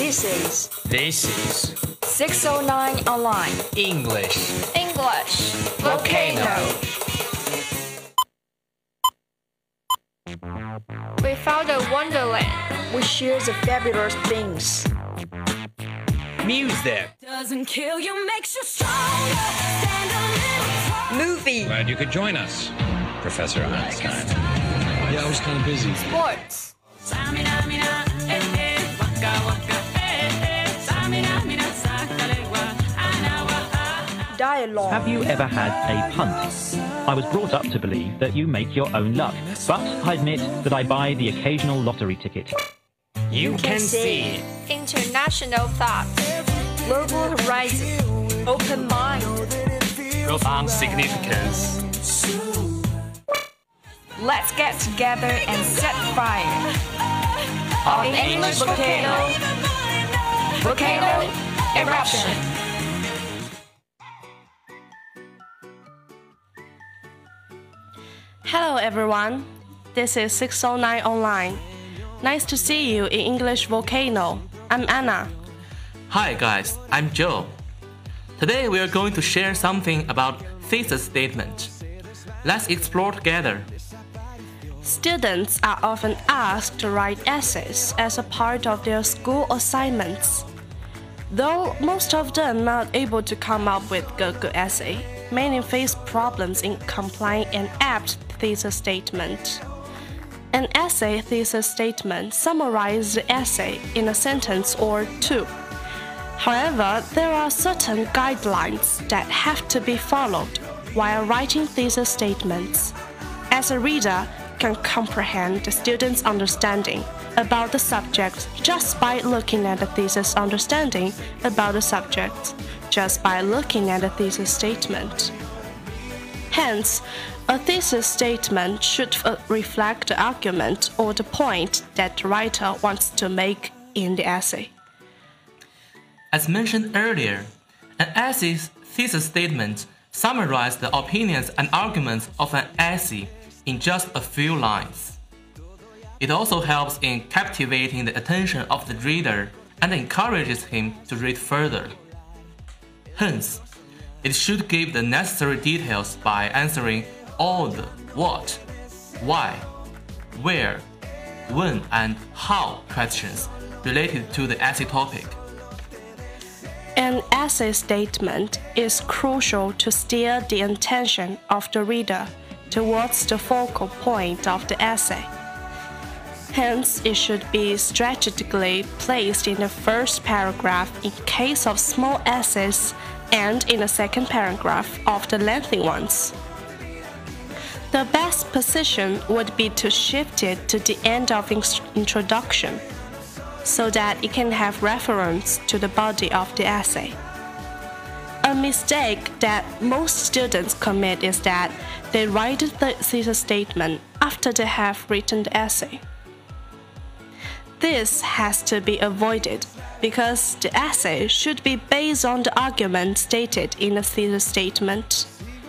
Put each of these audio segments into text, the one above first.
This is 609 Online English Volcano. We found a wonderland. We share the fabulous things. music. Doesn't kill you, makes you stronger. Stand a little Movie. Glad you could join us, Professor Einstein. Yeah, I was kind of busy. Sports. Dialogue. Have you ever had a punt? I was brought up to believe that you make your own luck, but I admit that I buy the occasional lottery ticket. You can see International thought. Global horizon. Open mind. profound significance. Let's get together and set fire. Of English volcano. Volcano eruption. Hello everyone, this is 609 Online. Nice to see you in English Volcano. I'm Anna. Hi guys, I'm Joe. Today we are going to share something about thesis statement. Let's explore together. Students are often asked to write essays as a part of their school assignments. Though most of them are not able to come up with a good essay, many face problems in complying an apt thesis statement. An essay thesis statement summarizes the essay in a sentence or two. However, there are certain guidelines that have to be followed while writing thesis statements. As a reader can comprehend the student's understanding about the subject just by looking at the thesis understanding about the subject, just by looking at the thesis statement. Hence, a thesis statement should reflect the argument or the point that the writer wants to make in the essay. As mentioned earlier, an essay's thesis statement summarizes the opinions and arguments of an essay in just a few lines. It also helps in captivating the attention of the reader and encourages him to read further. Hence, it should give the necessary details by answering all the what, why, where, when, and how questions related to the essay topic. An essay statement is crucial to steer the attention of the reader towards the focal point of the essay. Hence, it should be strategically placed in the first paragraph in case of small essays and in the second paragraph of the lengthy ones. The best position would be to shift it to the end of introduction, so that it can have reference to the body of the essay. A mistake that most students commit is that they write the thesis statement after they have written the essay. This has to be avoided because the essay should be based on the argument stated in the thesis statement.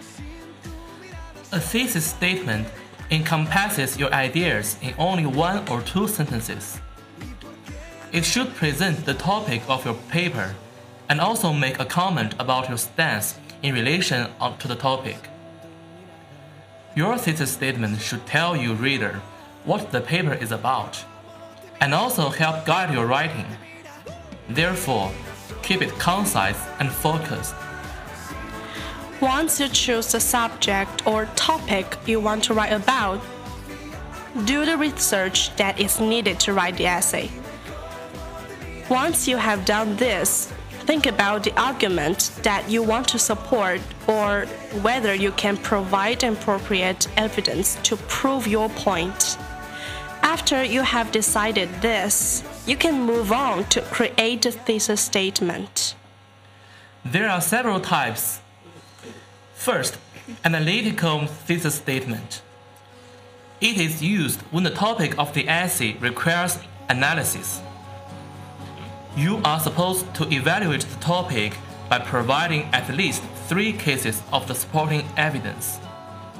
A thesis statement encompasses your ideas in only one or two sentences. It should present the topic of your paper and also make a comment about your stance in relation to the topic. Your thesis statement should tell you, reader, what the paper is about, and also help guide your writing. Therefore, keep it concise and focused. Once you choose the subject or topic you want to write about, do the research that is needed to write the essay. Once you have done this, think about the argument that you want to support or whether you can provide appropriate evidence to prove your point. After you have decided this, you can move on to create a thesis statement. There are several types. First, analytical thesis statement. It is used when the topic of the essay requires analysis. You are supposed to evaluate the topic by providing at least 3 cases of the supporting evidence.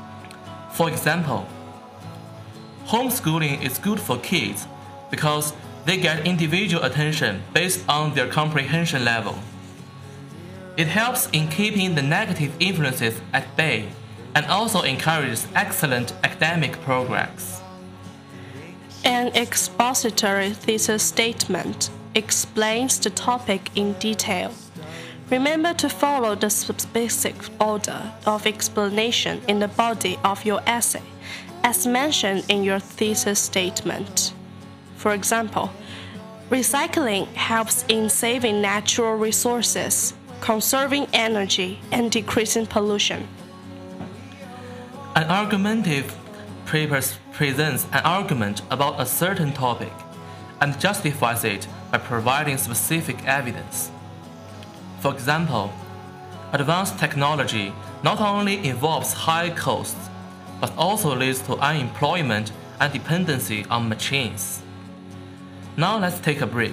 For example, homeschooling is good for kids because They get individual attention based on their comprehension level. It helps in keeping the negative influences at bay and also encourages excellent academic progress. An expository thesis statement explains the topic in detail. Remember to follow the specific order of explanation in the body of your essay, as mentioned in your thesis statement. For example, recycling helps in saving natural resources, conserving energy, and decreasing pollution. An argumentative paper presents an argument about a certain topic and justifies it by providing specific evidence. For example, advanced technology not only involves high costs, but also leads to unemployment and dependency on machines. Now let's take a break.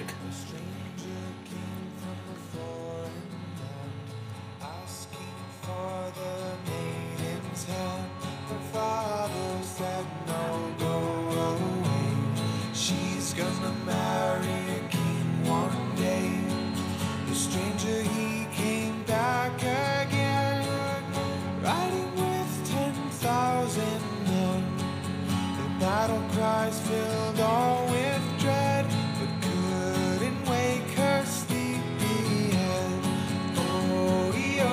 Battle cries filled all with dread, but couldn't wake her sleepy head. Oh,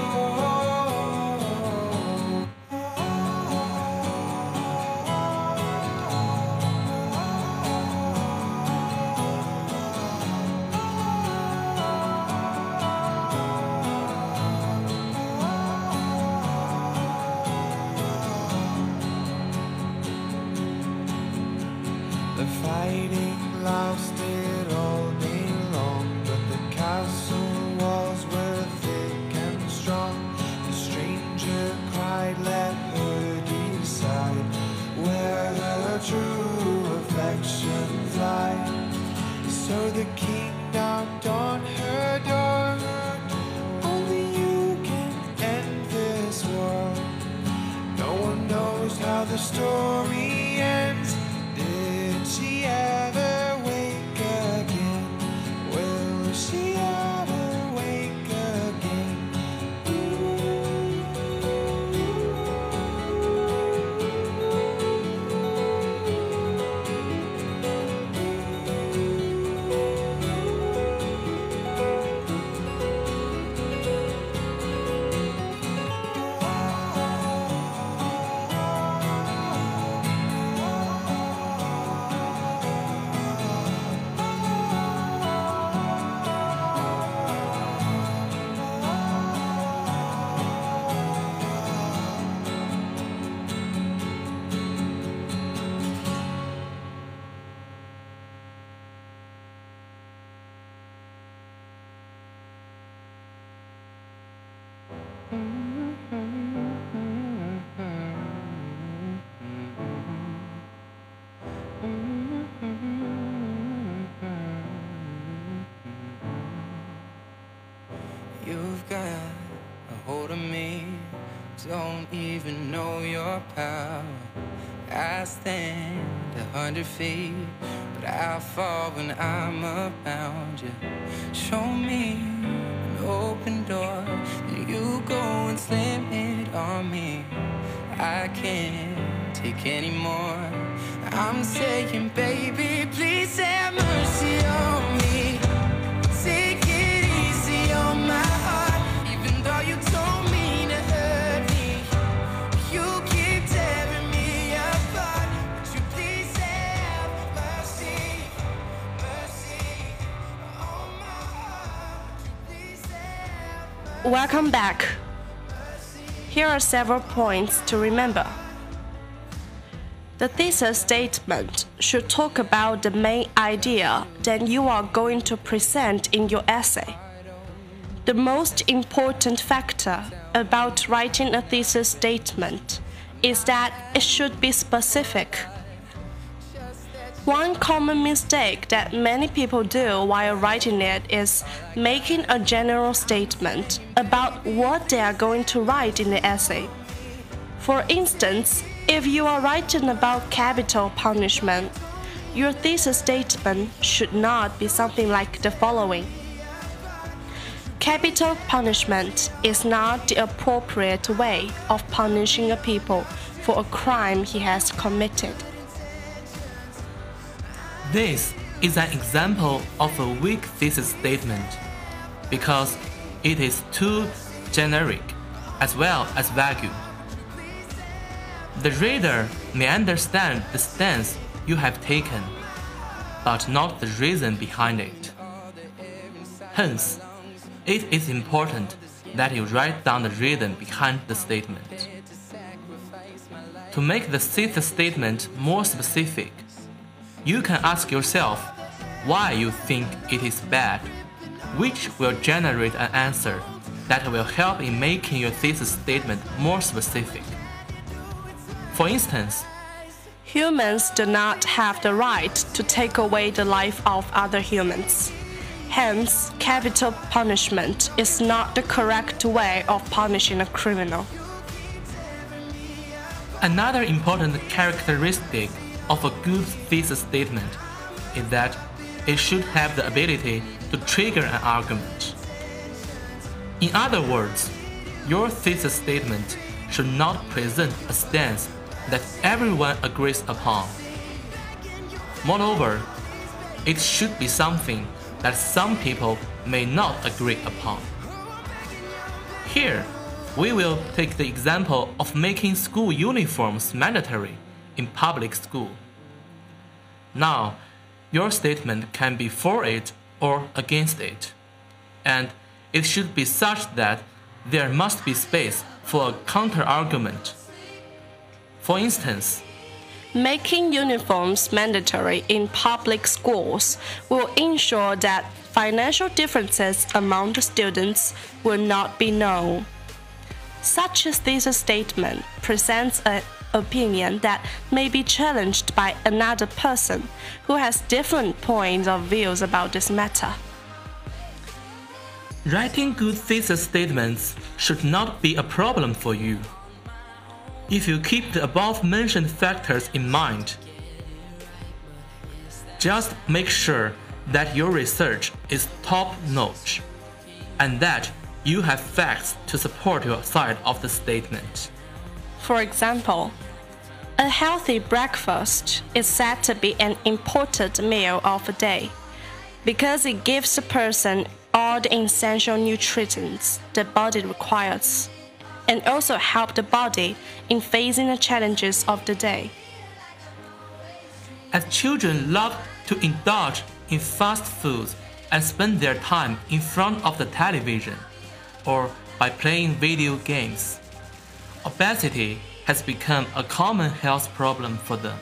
the fighting lasted all day long, but the castle walls were thick and strong. The stranger cried, let her decide where her true affections lie. So the king knocked on her door. Only you can end this war. No one knows how the story ends. Did she ever wake again? Will she ever wake again? You've got a hold of me, don't even know your power. I stand 100 feet, but I fall when I'm around you. Show me an open door, then you go and slam it on me. I can't take anymore. I'm saying, baby, please have mercy on me. Take it easy on my heart, even though you told me to hurt me. You keep tearing me apart. Would you please have mercy, mercy on my heart? Would you please have mercy? Welcome back. Here are several points to remember. The thesis statement should talk about the main idea that you are going to present in your essay. The most important factor about writing a thesis statement is that it should be specific. One common mistake that many people do while writing it is making a general statement about what they are going to write in the essay. For instance, if you are writing about capital punishment, your thesis statement should not be something like the following. Capital punishment is not the appropriate way of punishing a people for a crime he has committed. This is an example of a weak thesis statement because it is too generic as well as vague. The reader may understand the stance you have taken, but not the reason behind it. Hence, it is important that you write down the reason behind the statement. To make the thesis statement more specific, you can ask yourself why you think it is bad, which will generate an answer that will help in making your thesis statement more specific. For instance, humans do not have the right to take away the life of other humans. Hence, capital punishment is not the correct way of punishing a criminal. Another important characteristic of a good thesis statement is that it should have the ability to trigger an argument. In other words, your thesis statement should not present a stance that everyone agrees upon. Moreover, it should be something that some people may not agree upon. Here, we will take the example of making school uniforms mandatory in public school. Now, your statement can be for it or against it, and it should be such that there must be space for a counter-argument. For instance, making uniforms mandatory in public schools will ensure that financial differences among the students will not be known. Such a thesis statement presents an opinion that may be challenged by another person who has different points of views about this matter. Writing good thesis statements should not be a problem for you. If you keep the above-mentioned factors in mind, just make sure that your research is top-notch and that you have facts to support your side of the statement. For example, a healthy breakfast is said to be an important meal of the day because it gives the person all the essential nutrients the body requires, and also help the body in facing the challenges of the day. As children love to indulge in fast foods and spend their time in front of the television or by playing video games, obesity has become a common health problem for them.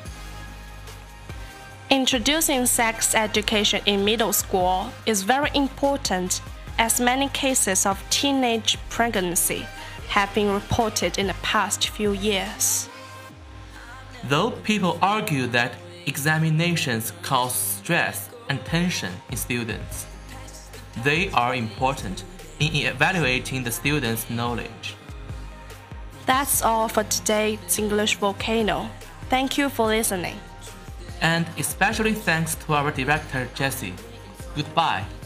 Introducing sex education in middle school is very important, as many cases of teenage pregnancy have been reported in the past few years. Though people argue that examinations cause stress and tension in students, they are important in evaluating the students' knowledge. That's all for today's English Volcano. Thank you for listening. And especially thanks to our director Jessie. Goodbye.